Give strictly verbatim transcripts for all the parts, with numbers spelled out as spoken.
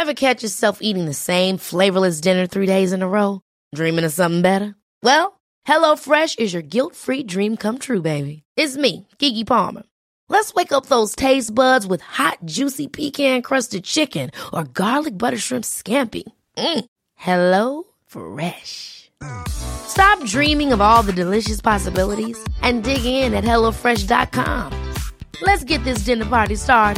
Ever catch yourself eating the same flavorless dinner three days in a row? Dreaming of something better? Well, HelloFresh is your guilt-free dream come true, baby. It's me, Keke Palmer. Let's wake up those taste buds with hot, juicy pecan-crusted chicken or garlic butter shrimp scampi. Mm. Hello Fresh. Stop dreaming of all the delicious possibilities and dig in at hello fresh dot com. Let's get this dinner party started.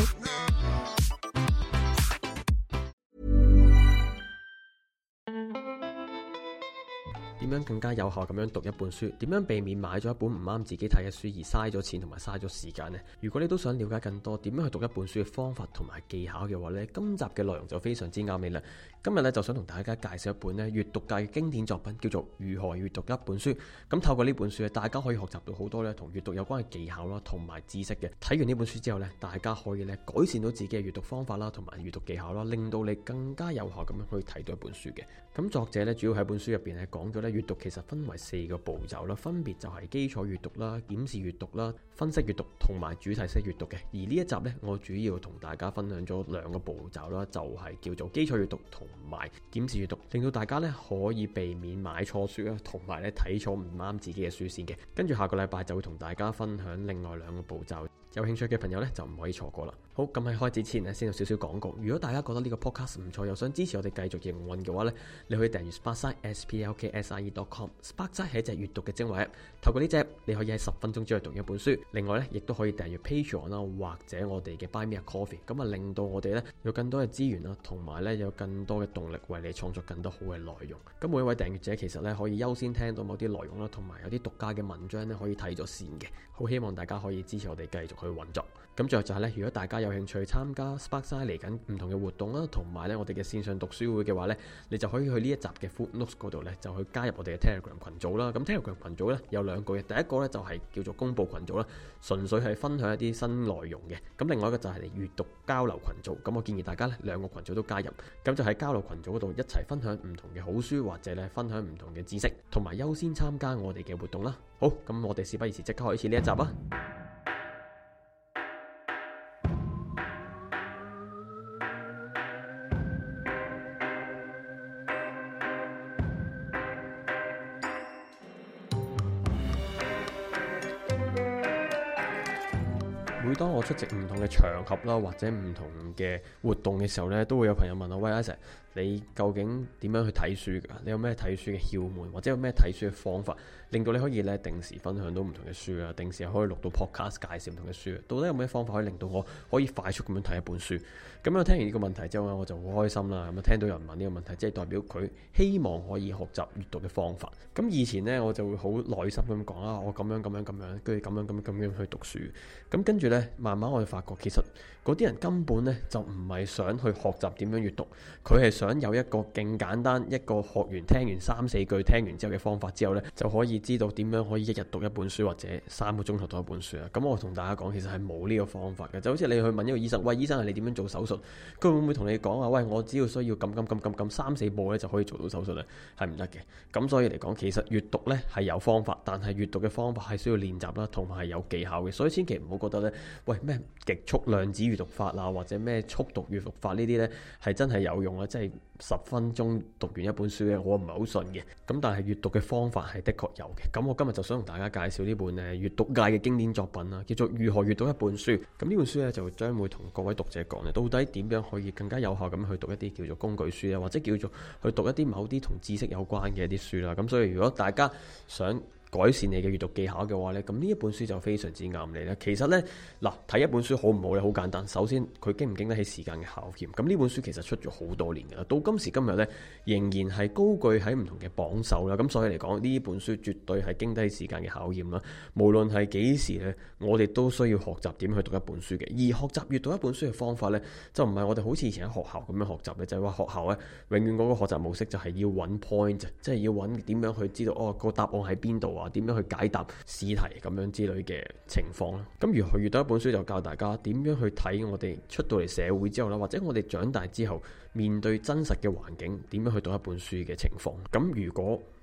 點樣更加有效咁樣讀一本書？點樣避免買咗一本唔啱自己睇嘅書而嘥咗錢同埋嘥咗時間呢？如果你都想了解更多點樣去讀一本書嘅方法同埋技巧嘅話呢，今集嘅內容就非常之啱你啦。今日咧就想同大家介紹一本咧閱讀界嘅經典作品，叫做《如何閱讀一本書》。咁透過呢本書咧，大家可以學習到好多咧同閱讀有關嘅技巧啦，同埋知識嘅。睇完呢本書之後咧，大家可以咧改善到自己嘅閱讀方法啦，同埋閱讀技巧啦，令到你更加有效咁樣去睇到一本書嘅。咁作者咧主要喺本書入邊咧講咗咧閱讀其實分為四個步驟啦，分別就係基礎閱讀啦、檢視閱讀啦、分析閱讀同埋主題式閱讀嘅。而呢一集咧，我主要同大家分享咗兩個步驟啦，就係叫做基礎閱讀同埋檢視閱讀，令到大家咧可以避免買錯書啦，同埋咧睇錯唔啱自己嘅書先嘅。跟住下個禮拜就會同大家分享另外兩個步驟，有興趣嘅朋友咧就唔可以錯過啦。好，咁喺開始前咧，先有少少廣告。如果大家覺得呢個 podcast 唔錯，又想支持我哋繼續營運嘅話咧，你可以訂閱 Sparkside S P L K S I E dot com。Sparkside 係一隻閱讀嘅精華 app， 透過呢隻你可以喺十分鐘之內讀一本書。另外咧，亦都可以訂閱 Patreon 啦，或者我哋嘅 Buy Me a Coffee， 咁啊令到我哋咧有更多嘅資源啦，同埋咧有更多嘅動力為你創作更多好嘅內容。咁每一位訂閱者其實咧可以優先聽到某啲內容啦，同埋有啲獨家嘅文章咧可以睇咗先嘅。好希望大家可以支持我哋繼續去運作。咁最後就係咧，如果大家有興趣參加 Sparkside 嚟緊唔同嘅活動啦，同埋咧我哋嘅線上讀書會嘅話咧，你就可以去呢一集嘅 Footnotes 嗰度咧，就去加入我哋嘅 Telegram 群組啦。咁 Telegram 群組咧有兩個嘅，第一個咧就係叫做公佈群組啦，純粹係分享一啲新內容嘅。咁另外一個就係閱讀交流群組。咁我建議大家咧兩個群組都加入，咁就喺交流群組嗰度一齊分享唔同嘅好書，或者咧分享唔同嘅知識，同埋優先參加我哋嘅活動啦。好，咁我哋事不宜遲，即刻開始呢一集啊！每當我出席唔同嘅場合啦，或者唔同嘅活動嘅時候呢，都會有朋友問我：喂，阿 Sir，你究竟點樣去睇書㗎？你有咩睇書嘅竅門，或者有咩睇書嘅方法，令到你可以咧定時分享到唔同嘅書啊，定時可以錄到 podcast 介紹唔同嘅書？到底有咩方法可以令到我可以快速咁樣睇一本書？咁我聽完呢個問題之後咧，我就好開心啦。咁啊，聽到有人問呢個問題，即係代表佢希望可以學習閱讀嘅方法。咁以前呢，我就會好耐心咁講啊，我咁樣咁樣咁樣，跟住咁樣咁樣咁樣去讀書。咁跟住呢，慢慢我哋發覺，其實嗰啲人根本呢就唔係想去學習點樣閱讀，佢係想有一個勁簡單，一個學完聽完三四句聽完之後嘅方法之後呢，就可以知道點樣可以一日讀一本書，或者三個鐘頭讀一本書啊。咁我同大家講，其實係冇呢個方法嘅。就好似你去問一個醫生，喂，醫生係你點樣做手術？佢會唔會同你講啊？喂，我只要需要撳撳撳撳撳三四步咧就可以做到手術咧？係唔得嘅。咁所以嚟講，其實閱讀咧係有方法，但係閱讀嘅方法係需要練習啦，同埋係有技巧嘅。所以千祈唔好覺得咧，喂，咩極速量子閱讀法啊，或者咩速讀閱讀法呢啲咧係真係有用啊！即係十分鐘讀完一本書咧，我唔係好信嘅。咁但係閱讀嘅方法係的確有嘅。咁我今日就想同大家介紹呢本誒閱讀界嘅經典作品啦，叫做《如何閱讀一本書》。咁呢本書咧就將會同各位讀者講咧，到底點樣可以更加有效咁去讀一啲叫做工具書啊，或者叫做去讀一啲某啲同知識有關嘅一啲書啦。咁所以如果大家想改善你嘅閱讀技巧嘅話呢，咁呢一本書就非常之啱你啦。其實呢，嗱，睇一本書好唔好呢？好簡單。首先佢經唔經得起時間嘅考驗。咁呢本書其實出咗好多年噶啦，到今時今日呢，仍然係高踞喺唔同嘅榜首啦。咁所以嚟講，呢本書絕對係經得起時間嘅考驗啦。無論係幾時呢，我哋都需要學習點去讀一本書嘅。而學習閱讀一本書嘅方法呢，就唔係我哋好似以前喺學校咁樣學習嘅，就係話學校呢，永遠嗰個學習模式就係要揾 point，即係要揾點樣去知道哦個答案喺邊度啊，點樣去解答試題咁樣之類嘅情況啦。咁如何閱讀一本書就教大家點樣去睇我哋出到嚟社會之後啦，或者我哋長大之後面對真實嘅環境點樣去讀一本書嘅情況。咁如果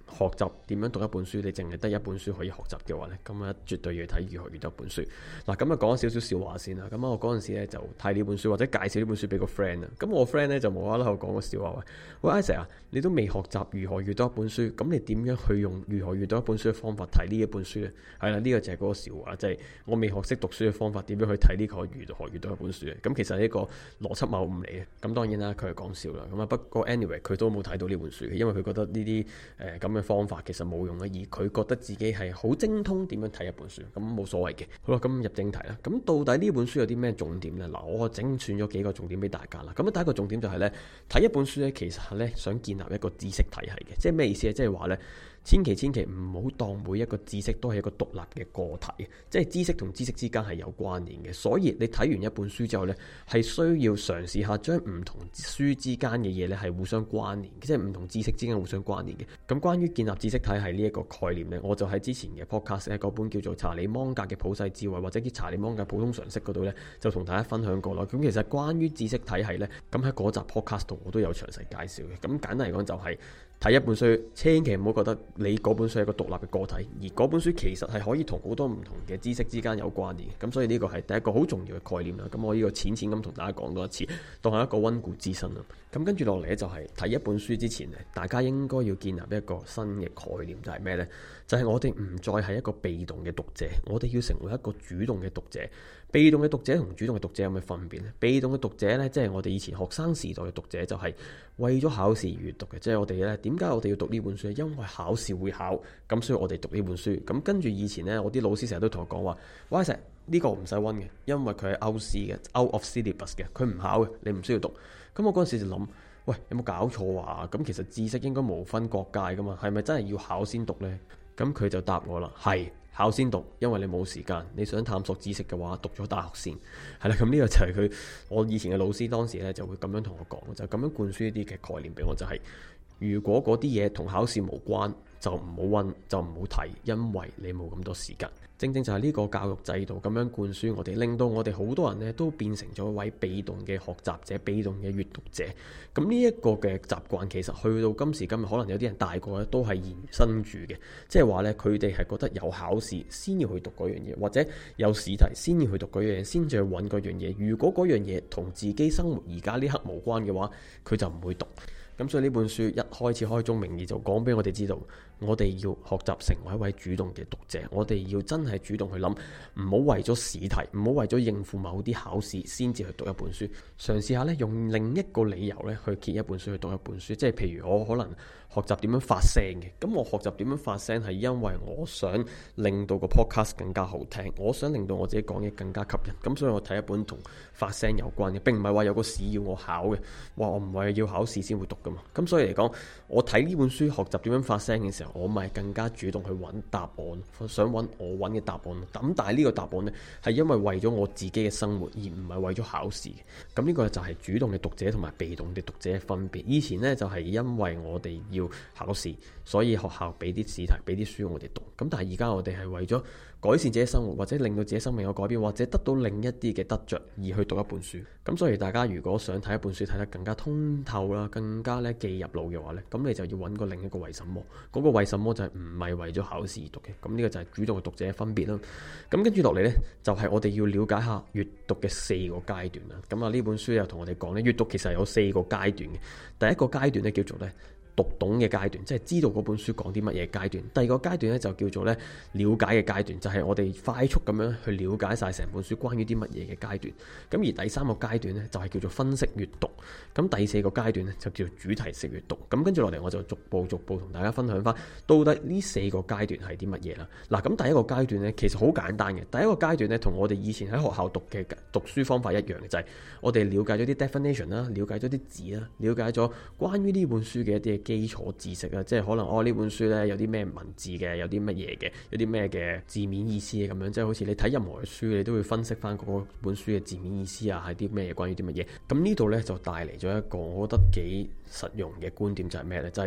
學習點樣讀一本書，你淨係得一本書可以學習嘅話呢，咁啊絕對要睇如何閱讀一本書。嗱，咁啊講少少笑話先啦。咁我嗰陣時咧就睇呢本書或者介紹呢本書俾個 friend 啊。咁我 friend 咧就無啦啦講個笑話，喂，喂 Isaac 啊，你都未學習如何閱讀一本書，咁你點樣去用如何閱讀一本書嘅方法睇呢一本書呢？係啦，呢個就係嗰個笑話，即係我未學識讀書嘅方法，點樣去睇呢個如何閱讀一本書嘅？咁其實呢個邏輯謬誤嚟嘅。咁當然啦，佢係講笑啦。咁啊不過 anyway 佢都冇睇到呢本書嘅，因為佢覺得呢啲誒咁嘅方法其實冇用嘅，而佢覺得自己係好精通點樣睇一本書，咁冇所謂嘅。好啦，咁入正題啦。咁到底呢本書有啲咩重點呢？嗱，我整選咗幾個重點俾大家啦。咁第一個重點就係呢：睇一本書呢，其實係呢想建立一個知識體系嘅，即係咩意思咧？即係話呢，千祈千祈唔好當每一個知識都係一個獨立嘅個體，即係知識同知識之間係有關聯嘅。所以你睇完一本書之後呢，係需要嘗試下將唔同書之間嘅嘢呢係互相關聯，即係唔同知識之間互相關聯嘅。咁關於建立知識體系呢一個概念呢，我就喺之前嘅 podcast 咧嗰本叫做查理芒格嘅普世智慧或者叫查理芒格普通常識嗰度呢，就同大家分享過啦。咁其實關於知識體系呢，咁喺嗰集 podcast 度我都有詳細介紹嘅。咁簡單嚟講就係、是。睇一本書，千祈唔好覺得你嗰本書係一個獨立嘅個體，而嗰本書其實係可以同好多唔同嘅知識之間有關聯嘅。咁所以呢個係第一個好重要嘅概念啦。咁我呢個淺淺咁同大家講多一次，當係一個溫故知新啦。咁跟住落嚟咧，就係睇一本書之前咧，大家應該要建立一個新嘅概念，就係咩呢？就係、是、我哋唔再係一個被動嘅讀者，我哋要成為一個主動嘅讀者。被動嘅讀者同主動嘅讀者有咩分別呢？被動嘅讀者呢，即係我哋以前學生時代嘅讀者，就係為咗考試而閱讀嘅。即係我哋呢，點解我哋要讀呢本書？因為考試會考，咁所以我哋讀呢本書。咁跟住以前呢，我啲老師成日都同我講話，喂，石呢個唔使溫嘅，因為佢係 out 試嘅 out of syllabus 嘅，佢唔考嘅，你唔需要讀。咁我嗰陣時就諗，喂，有冇搞錯啊？咁其實知識應該無分國界噶嘛，係咪真係要考先讀呢？咁佢就答我啦，係。考先讀，因為你冇時間，你想探索知識嘅話，讀咗大學先係啦。咁呢個就係佢我以前嘅老師當時咧就會咁樣同我講，就咁樣灌輸一啲嘅概念俾我，就係、是、如果嗰啲嘢同考試無關，就唔好溫，就唔好睇，因為你冇咁多時間。正正就係呢個教育制度咁樣灌輸我哋，令到我哋好多人呢都變成咗一位被動嘅學習者、被動嘅閱讀者。咁呢一個嘅習慣，其實去到今時今日，可能有啲人大個咧都係延伸住嘅，即係話呢，佢哋係覺得有考試先要去讀嗰樣嘢，或者有試題先要去讀嗰樣嘢，先至去揾嗰樣嘢。如果嗰樣嘢同自己生活而家呢刻無關嘅話，佢就唔會讀。咁所以呢本書一開始開宗明義就講俾我哋知道，我哋要學習成為一位主動嘅讀者，我哋要真係主動去諗，唔好為咗試題，唔好為咗應付某啲考試先至去讀一本書，嘗試下咧用另一個理由咧去揭一本書，去讀一本書。即係譬如我可能學習點樣發聲嘅，咁我學習點樣發聲係因為我想令到個 podcast 更加好聽，我想令到我自己講嘢更加吸引，咁所以我睇一本同發聲有關嘅，並唔係話有個試要我考嘅，話我唔係要考試先會讀噶嘛。咁所以嚟講，我睇呢本書學習點樣發聲嘅時候，我咪更加主動去揾答案，想揾我揾嘅答案。咁但係呢個答案呢，係因為為咗我自己嘅生活，而唔係為咗考試。咁呢個就係主動嘅讀者同埋被動嘅讀者嘅分別。以前呢，就係因為我哋要考試，所以學校俾啲試題，俾啲書我哋讀。咁但係而家我哋係為咗改善自己生活，或者令到自己生命有改變，或者得到另一啲嘅得着而去讀一本書。咁所以大家如果想睇一本書睇得更加通透啦，更加咧記入腦嘅話咧，咁你就要揾個另一個為什麼。嗰個為什麼就係唔係為咗考試而讀嘅。咁呢個就係主動嘅讀者嘅分別啦。咁跟住落嚟呢，就係我哋要了解下閱讀嘅四個階段啦。咁啊呢本書又同我哋講呢，閱讀其實有四個階段嘅。第一個階段呢，叫做呢讀懂嘅階段，即係知道嗰本書講啲乜嘢階段。第二個階段咧就叫做咧了解嘅階段，就係我哋快速咁樣去了解晒成本書關於啲乜嘢嘅階段。咁而第三個階段咧就係叫做分析閱讀。咁第四個階段咧就叫做主題式閱讀。咁跟住落嚟我就逐步逐步同大家分享翻，到底呢四個階段係啲乜嘢啦。嗱，咁第一個階段咧其實好簡單嘅。第一個階段咧同我哋以前喺學校讀嘅讀書方法一樣嘅，就係我哋了解咗啲 definition 啦，了解咗啲字啦，了解咗關於呢本書嘅一啲基礎知識啊，即係可能哦呢本書呢有啲咩文字嘅，有啲乜嘢嘅，有啲咩嘅字面意思嘅咁樣，即係好似你睇任何嘅書，你都會分析翻嗰本書嘅字面意思啊，係啲咩關於啲乜嘢。咁呢度呢就帶嚟咗一個我覺得幾實用嘅觀點，就係咩呢？就係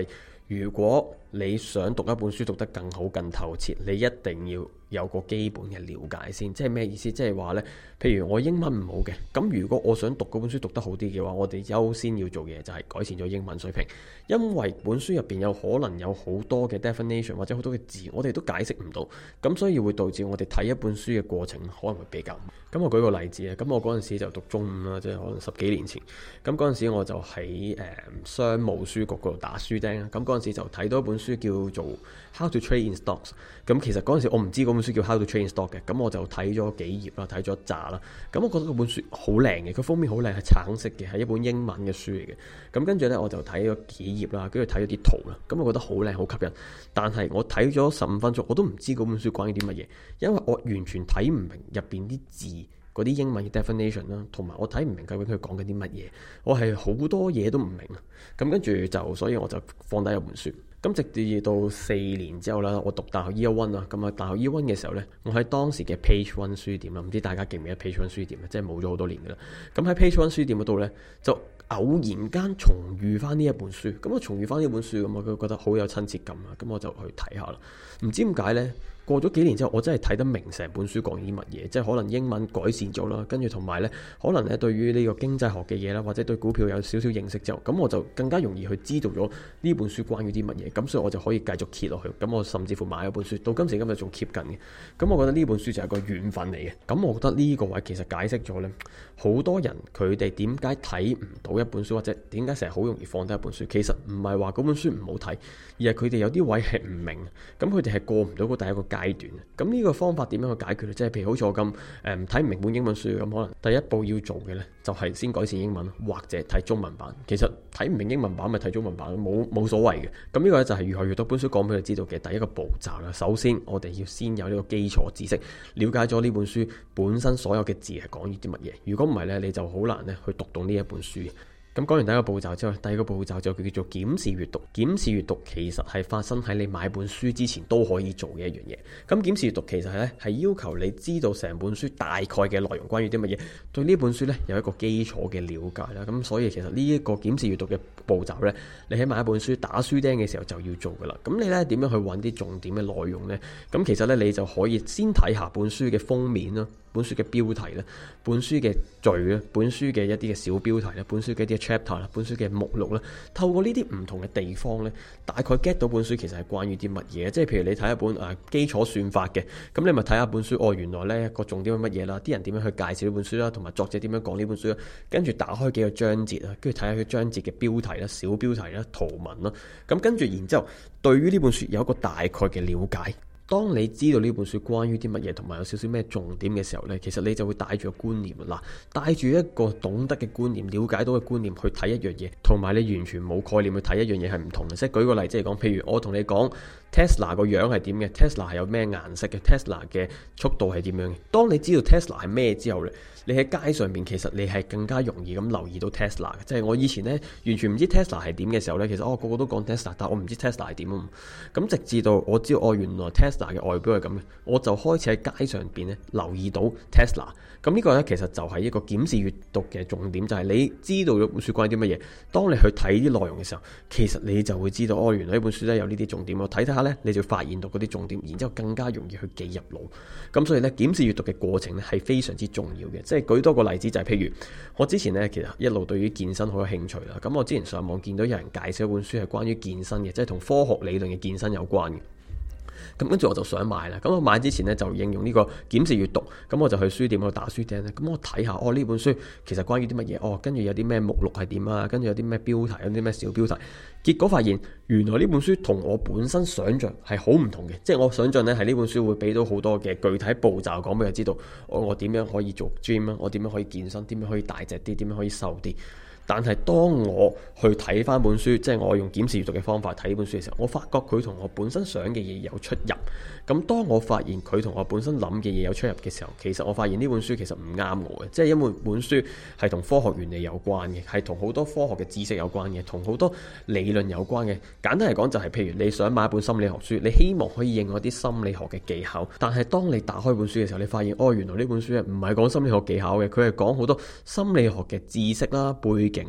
如果你想讀一本書讀得更好更透徹，你一定要有個基本嘅了解先。即係咩意思？即係話呢，譬如我英文唔好嘅，咁如果我想讀嗰本書讀得好啲嘅話，我哋優先要做嘅嘢就係改善咗英文水平。因為本書入邊有可能有好多嘅 definition 或者好多嘅字，我哋都解釋唔到，咁所以會導致我哋睇一本書嘅過程可能會比較。咁我舉個例子啊，咁我嗰陣時就讀中五啦，即係可能十幾年前。咁嗰陣時我就喺誒、呃、商務書局嗰度打書釘啊。咁嗰陣時就睇到一本書叫做 How to Trade in Stocks。咁其實嗰陣時我唔知嗰本書叫 How to Trade in Stock 嘅，咁我就睇咗幾頁啦，睇咗一紮啦。咁我覺得嗰本書好靚嘅，佢封面好靚，係橙色嘅，係一本英文嘅書嚟嘅。咁跟住呢，我就睇咗幾頁啦，跟住睇咗啲圖啦。咁我覺得好靚，好吸引。但係我睇咗十五分鐘，我都唔知嗰本書關於啲乜嘢，因為我完全睇唔明入邊啲字。嗰啲英文嘅 definition 啦，同埋我睇唔明究竟佢講緊啲乜嘢，我係好多嘢都唔明啊。咁跟住就，所以我就放低一本書。咁直至到四年之後啦，我讀大學 year one 啊，咁啊大學 year one 嘅時候呢，我喺當時嘅 Page One 書店啦，唔知大家記唔記得 Page One 書店啊？即係冇咗好多年噶啦。咁喺 Page One 書店嗰度呢，就偶然間重遇翻呢一本書。咁我重遇翻呢本書，咁我就覺得好有親切感啊。咁我就去睇下啦。唔知點解呢？過咗幾年之後，我真係睇得明成本書講啲乜嘢，即係可能英文改善咗啦，跟住同埋呢，可能咧對於呢個經濟學嘅嘢啦，或者對股票有少少認識之後，咁我就更加容易去知道咗呢本書關於啲乜嘢，咁所以我就可以繼續揭落去，咁我甚至乎買一本書，到今時今日仲 keep 緊嘅，咁我覺得呢本書就係個緣分嚟嘅，咁我覺得呢個位其實解釋咗呢，好多人佢哋點解睇唔到一本書，或者點解成日好容易放低一本書，其實唔係話嗰本書唔好睇，而係佢哋有啲位係唔明，咁佢哋係過唔到嗰第一個階段。咁呢個方法點樣去解決呢？即係譬如好似我咁誒睇唔明本英文書咁，可能第一步要做嘅呢，就係先改善英文，或者睇中文版。其實睇唔明英文版咪睇中文版，冇冇所謂嘅。咁呢個咧就係如何閱讀本書講俾佢知道嘅第一個步驟啦。首先我哋要先有呢個基礎知識，了解咗呢本書本身所有嘅字係講啲乜嘢。如果唔係呢，你就好難咧去讀懂呢一本書。咁講完第一個步驟之後，第二個步驟就叫做檢視閱讀。檢視閱讀其實係發生喺你買本書之前都可以做嘅一樣嘢。咁檢視閱讀其實咧係要求你知道成本書大概嘅內容關於啲乜嘢，對呢本書咧有一個基礎嘅了解啦。咁所以其實呢一個檢視閱讀嘅步驟咧，你喺買一本書打書釘嘅時候就要做噶啦。咁你咧點樣去揾啲重點嘅內容呢？咁其實咧你就可以先睇下本書嘅封面啦，本書嘅標題啦，本書嘅序啦，本書嘅一啲嘅小標題啦，本書嘅一啲 chapter 啦，本書嘅目錄啦，透過呢啲唔同嘅地方咧，大概 get 到本書其實係關於啲乜嘢。即係譬如你睇一本誒、啊、基礎算法嘅，咁你咪睇下本書哦，原來咧個重點係乜嘢啦，啲人點樣去介紹呢本書啦，同埋作者點樣講呢本書啦，跟住打開幾個章節啊，跟住睇下佢章節嘅標題啦、小標題啦、圖文啦，咁跟住然之後對於呢本書有一個大概嘅了解。當你知道呢本書關於啲乜嘢，同埋有少少咩重點嘅時候呢，其實你就會帶住個觀念啦，帶住一個懂得嘅觀念、了解到嘅觀念去睇一樣嘢，同埋你完全冇概念去睇一樣嘢係唔同嘅。即係舉個例子嚟講，譬如我同你講 Tesla 個樣係點嘅 ，Tesla 係有咩顏色嘅 ，Tesla 嘅速度係點樣嘅。當你知道 Tesla 係咩之後呢，你喺街上面其實你係更加容易咁留意到 Tesla 嘅。即係我以前呢，完全唔知 Tesla 係點嘅時候呢，其實我、哦、個個都講 Tesla， 但我唔知 Tesla 係點啊。咁直至到我知道哦，原來 Tesla 嘅外表係咁嘅，我就開始喺街上邊咧留意到 Tesla。咁呢個呢，其實就係一個檢視閱讀嘅重點，就係、是、你知道咗本書關於啲乜嘢，當你去睇啲內容嘅時候，其實你就會知道哦，原來呢本書咧有呢啲重點，我睇睇下呢，你就發現到嗰啲重點，然之後更加容易去記入腦。咁所以呢，檢視閱讀嘅過程咧係非常之重要嘅。即係舉多個例子，就係、是、譬如我之前呢，其實一路對於健身好有興趣啦。咁我之前上網見到有人介紹一本書係關於健身嘅，即係同科學理論嘅健身有關嘅。咁跟住我就想買啦，咁我買之前呢，就應用呢個檢視閱讀，咁我就去書店嗰度打書釘咧，咁我睇下哦呢本書其實關於啲乜嘢，哦跟住有啲咩目錄係點啊，跟住有啲咩標題，有啲咩小標題，結果發現原來呢本書同我本身想像係好唔同嘅，即係我想像呢係呢本書會俾到好多嘅具體步驟講俾佢知道，我我點樣可以做 gym 啊，我點樣可以健身，點樣可以大隻啲，點樣可以瘦啲。但係當我去睇翻本書，即係我用檢視閱讀嘅方法睇呢本書嘅時候，我發覺佢同我本身想嘅嘢有出入。咁當我發現佢同我本身諗嘅嘢有出入嘅時候，其實我發現呢本書其實唔啱我嘅，即係因為本書係同科學原理有關嘅，係同好多科學嘅知識有關嘅，同好多理論有關嘅。簡單嚟講就係，譬如你想買一本心理學書，你希望可以應用一啲心理學嘅技巧，但係當你打開本書嘅時候，你發現哦，原來呢本書唔係講心理學技巧嘅，佢係講好多心理學嘅知識啦、背景啦。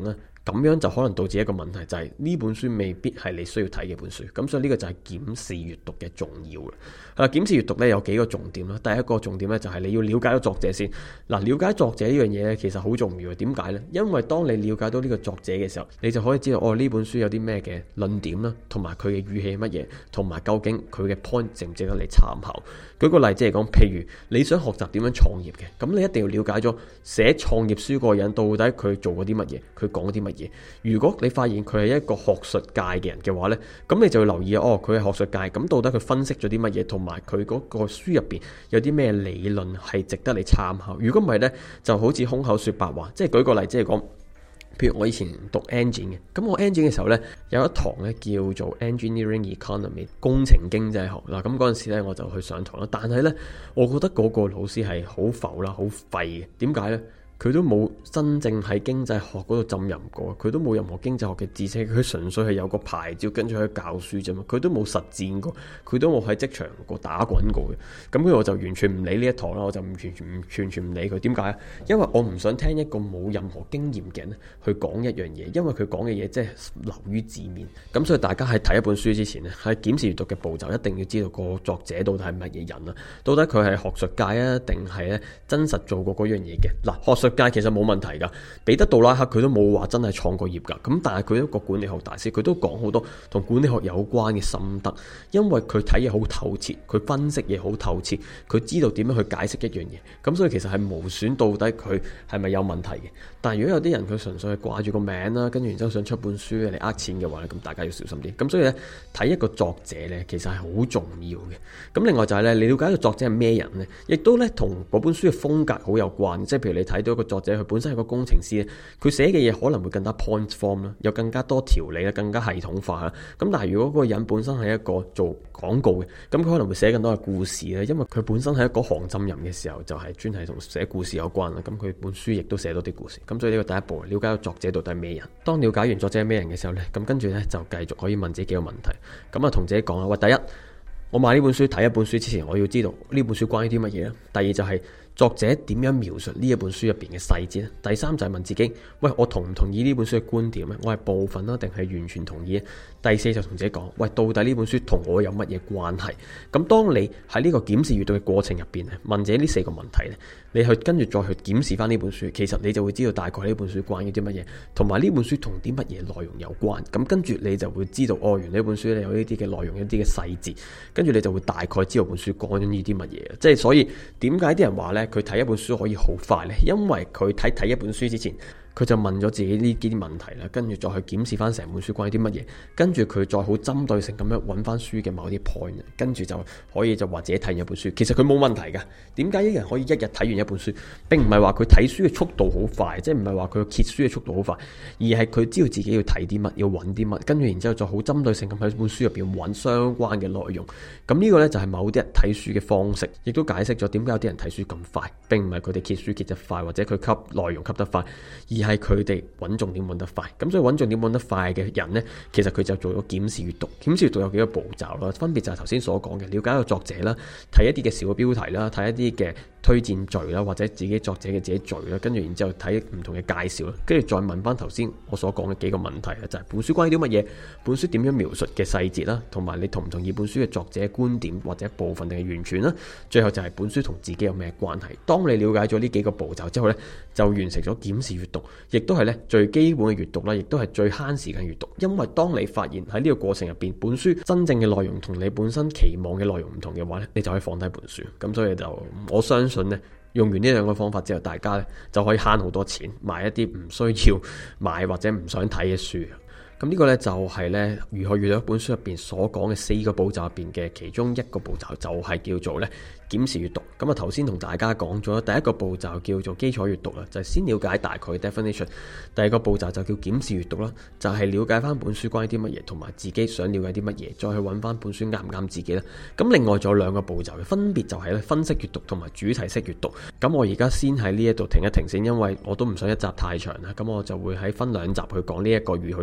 咁樣就可能導致一個問題，就係呢本書未必係你需要睇嘅本書。咁所以呢個就係檢視閱讀嘅重要啦。係啦，檢視閱讀咧有幾個重點啦。第一個重點咧就係你要了解到作者先。嗱，了解作者呢樣嘢咧其實好重要嘅。點解呢？因為當你了解到呢個作者嘅時候，你就可以知道哦呢本書有啲咩嘅論點啦，同埋佢嘅語氣係乜嘢，同埋究竟佢嘅 point 值唔值得你參考。舉個例子嚟講，譬如你想學習點樣創業嘅，咁你一定要了解咗寫創業書嗰個人到底佢做過啲乜嘢，佢講啲乜嘢。如果你發現佢係一個學術界嘅人嘅話呢，咁你就要留意哦，佢係學術界，咁到底佢分析咗啲乜嘢，同埋佢嗰個書入邊有啲咩理論係值得你參考。如果唔係呢，就好似空口說白話。即係舉個例子嚟講，譬如我以前讀 engine 嘅，咁我 engine 嘅時候呢，有一堂呢叫做 engineering economy 工程經濟學嗱，咁嗰陣時呢我就去上堂啦。但係呢，我覺得嗰個老師係好浮啦，好廢嘅。點解呢？佢都冇真正喺經濟學嗰度浸淫過，佢都冇任何經濟學嘅知識，佢純粹係有個牌照跟住去教書啫嘛，佢都冇實踐過，佢都冇喺職場過打滾過嘅。咁所以我就完全唔理呢一堂啦，我就唔完全唔完全唔理佢。點解？因為我唔想聽一個冇任何經驗嘅人去講一樣嘢，因為佢講嘅嘢即係流於字面。咁所以大家喺睇一本書之前咧，喺檢視閱讀嘅步驟一定要知道個作者到底係乜嘢人啊，到底佢係學術界啊，定係咧真實做過嗰樣嘢嘅。嗱，學術界其實冇問題噶，彼得杜拉克佢都冇話真係創過業噶，咁但係佢一個管理學大師，佢都講好多同管理學有關嘅心得，因為佢睇嘢好透徹，佢分析嘢好透徹，佢知道點樣去解釋一樣嘢，咁所以其實係無損到底佢係咪有問題嘅。但係如果有啲人佢純粹係掛住個名啦，跟住然之後想出本書嚟呃錢嘅話咧，咁大家要小心啲。咁所以咧，睇一個作者咧，其實係好重要嘅。咁另外就係咧，你了解一個作者係咩人咧，亦都咧同嗰本書嘅風格好有關。即係譬如你睇到一個作者，佢本身係個工程師咧，佢寫嘅嘢可能會更加 point form 啦，有更加多條理啦，更加系統化啦。咁但係如果嗰個人本身係一個做廣告嘅，咁佢可能會寫更多嘅故事咧，因為佢本身係一個行浸淫嘅時候，就係專係同寫故事有關啦。咁佢本書亦都寫多啲故事。咁所以呢個第一步，了解個作者到底係咩人。當了解完作者係咩人嘅時候呢，咁跟住呢，就繼續可以問自己幾個問題。咁啊同自己講啦，喂，第一，我買呢本書睇一本書之前，我要知道呢本書關於啲乜嘢咧。第二就係、是。作者點樣描述呢一本書入邊嘅細節咧？第三就係問自己，喂，我同唔同意呢本書嘅觀點咧？我係部分啦，定係完全同意咧？第四就同自己講，喂，到底呢本書同我有乜嘢關係？咁當你喺呢個檢視閱讀嘅過程入邊咧，問自己呢四個問題咧，你去跟住再去檢視翻呢本書，其實你就會知道大概呢本書關於啲乜嘢，同埋呢本書同啲乜嘢內容有關。咁跟住你就會知道，哦，原來呢本書咧有呢啲嘅內容，一啲嘅細節，跟住你就會大概知道本書講緊呢啲乜嘢。即係所以點解啲人話咧？佢睇一本書可以好快呢，因為佢睇睇一本書之前，佢就問咗自己呢啲問題啦，跟住再去檢視翻成本書關於啲乜嘢，跟住佢再好針對性咁樣揾翻書嘅某啲 point，跟住就可以就話自己睇完一本書。其實佢冇問題噶。點解一人可以一日睇完一本書，並唔係話佢睇書嘅速度好快，即係唔係話佢揭書嘅速度好快，而係佢知道自己要睇啲乜，要揾啲乜，跟住然之後再好針對性咁喺本書入邊揾相關嘅內容。咁呢個呢，就係某啲人睇書嘅方式，亦都解釋咗點解有啲人睇書咁快，並唔係佢哋揭書揭得快，或者佢吸內容吸得快，而係佢哋揾重點揾得快。咁所以揾重點揾得快嘅人呢，其實佢就做咗檢視閱讀。檢視閱讀有幾個步驟啦，分別就係頭先所講嘅，了解一個作者啦，睇一啲嘅小嘅標題啦，睇一啲嘅推薦序啦，或者自己作者嘅自己序啦，跟住然之後睇唔同嘅介紹啦，跟住再問翻頭先我所講嘅幾個問題啦，就係本書關於啲乜嘢，本書點樣描述嘅細節啦，同埋你同唔同意本書嘅作者觀點或者部分定係完全啦，最後就係本書同自己有咩關係。當你了解咗呢幾個步驟之後呢，就完成咗檢視閱讀，亦都係咧最基本嘅閱讀啦，亦都係最慳時間閱讀。因為當你發現喺呢個過程入邊，本書真正嘅內容同你本身期望嘅內容唔同嘅話咧，你就可以放低本書。咁所以就我相信咧，用完呢兩個方法之後，大家咧就可以慳好多錢，買一啲唔需要買或者唔想睇嘅書。咁呢個呢，就係呢如何閱讀一本書入邊所講嘅四個步驟入邊嘅其中一個步驟，就係叫做呢檢視閱讀。咁啊頭先同大家講咗第一個步驟叫做基礎閱讀啦，就係先了解大概 definition。第二個步驟就叫檢視閱讀啦，就係了解翻本書關於啲乜嘢，同埋自己想了解啲乜嘢，再去揾翻本書啱唔啱自己啦。咁另外仲有兩個步驟嘅，分別就係咧分析閱讀同埋主題式閱讀。咁我而家先喺呢一度停一停先，因為我都唔想一集太長啦。咁我就會喺分兩集去講呢一個如何閱讀本書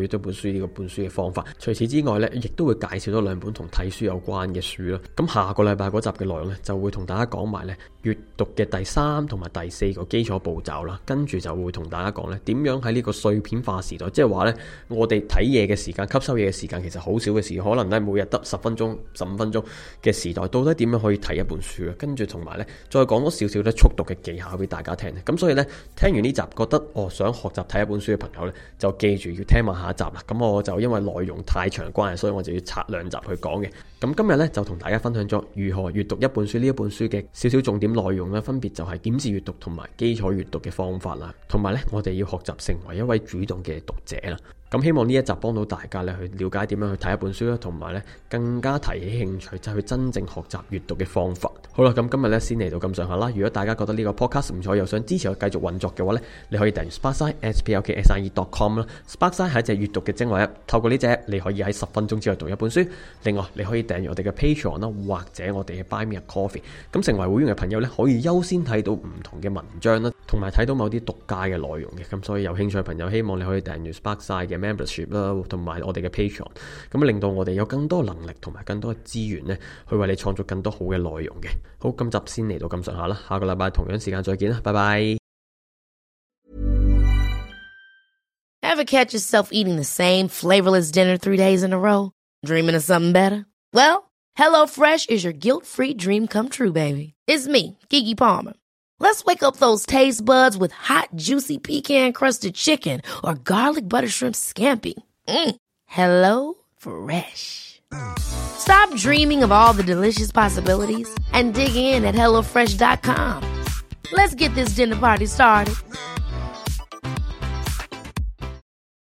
書呢個本書嘅方法。除此之外呢，亦都會介紹多兩本同睇書有關嘅書啦。咁下個禮拜嗰集嘅內容呢，就會同大家講埋呢閱讀嘅第三同埋第四個基礎步驟啦。跟住就會同大家講呢點樣喺呢個碎片化時代，即係話呢我哋睇嘢嘅時間、吸收嘢嘅時間其實好少嘅時間，可能呢每日得十分鐘、十五分鐘嘅時代，到底點樣可以睇一本書啊？跟住同埋呢再講多少少咧速讀嘅技巧俾大家聽。咁所以呢，聽完呢集覺得哦想學習睇一本書嘅朋友呢，就記住要聽埋下一集啦。咁我就因為內容太長關係，所以我就要拆兩集去講嘅。咁今日呢，就同大家分享咗如何閱讀一本書，呢一本書嘅少少重點內容呢，分別就係檢視閱讀同埋基礎閱讀嘅方法啦，同埋呢，我哋要學習成為一位主動嘅讀者啦。咁希望呢一集幫到大家咧去了解點樣去睇一本書啦，同埋咧更加提起興趣，就係去真正學習閱讀嘅方法。好啦，咁今日咧先嚟到咁上下啦。如果大家覺得呢個 podcast 唔錯，又想支持我繼續運作嘅話咧，你可以訂閱 Sparkside s p l k s i e dot com 啦。Sparkside 係一隻閱讀嘅精華 app，透過呢隻 app 你可以喺十分鐘之內讀一本書。另外，你可以訂閱我哋嘅 Patreon 啦，或者我哋嘅 Buy Me a Coffee。咁成為會員嘅朋友咧，可以優先睇到唔同嘅文章啦，同埋睇到某啲獨家嘅內容嘅。咁所以有興趣嘅朋友，希望你可以訂閱 Sparkside 嘅 membership 啦，同埋我哋嘅 Patreon， 咁令到我哋有更多能力同埋更多嘅資源呢，去為你創造更多好嘅內容嘅。好，今集先嚟到咁上下啦，下個禮拜同樣時間再見啦，拜拜。 Ever catch yourself eating the same flavorless dinner three days in a row? Dreaming of something better? Well, HelloFresh is your guilt-free dream come true, baby. It's me, Keke Palmer. Let's wake up those taste buds with hot, juicy pecan-crusted chicken or garlic butter shrimp scampi. Mm. Hello Fresh. Stop dreaming of all the delicious possibilities and dig in at hello fresh dot com. Let's get this dinner party started.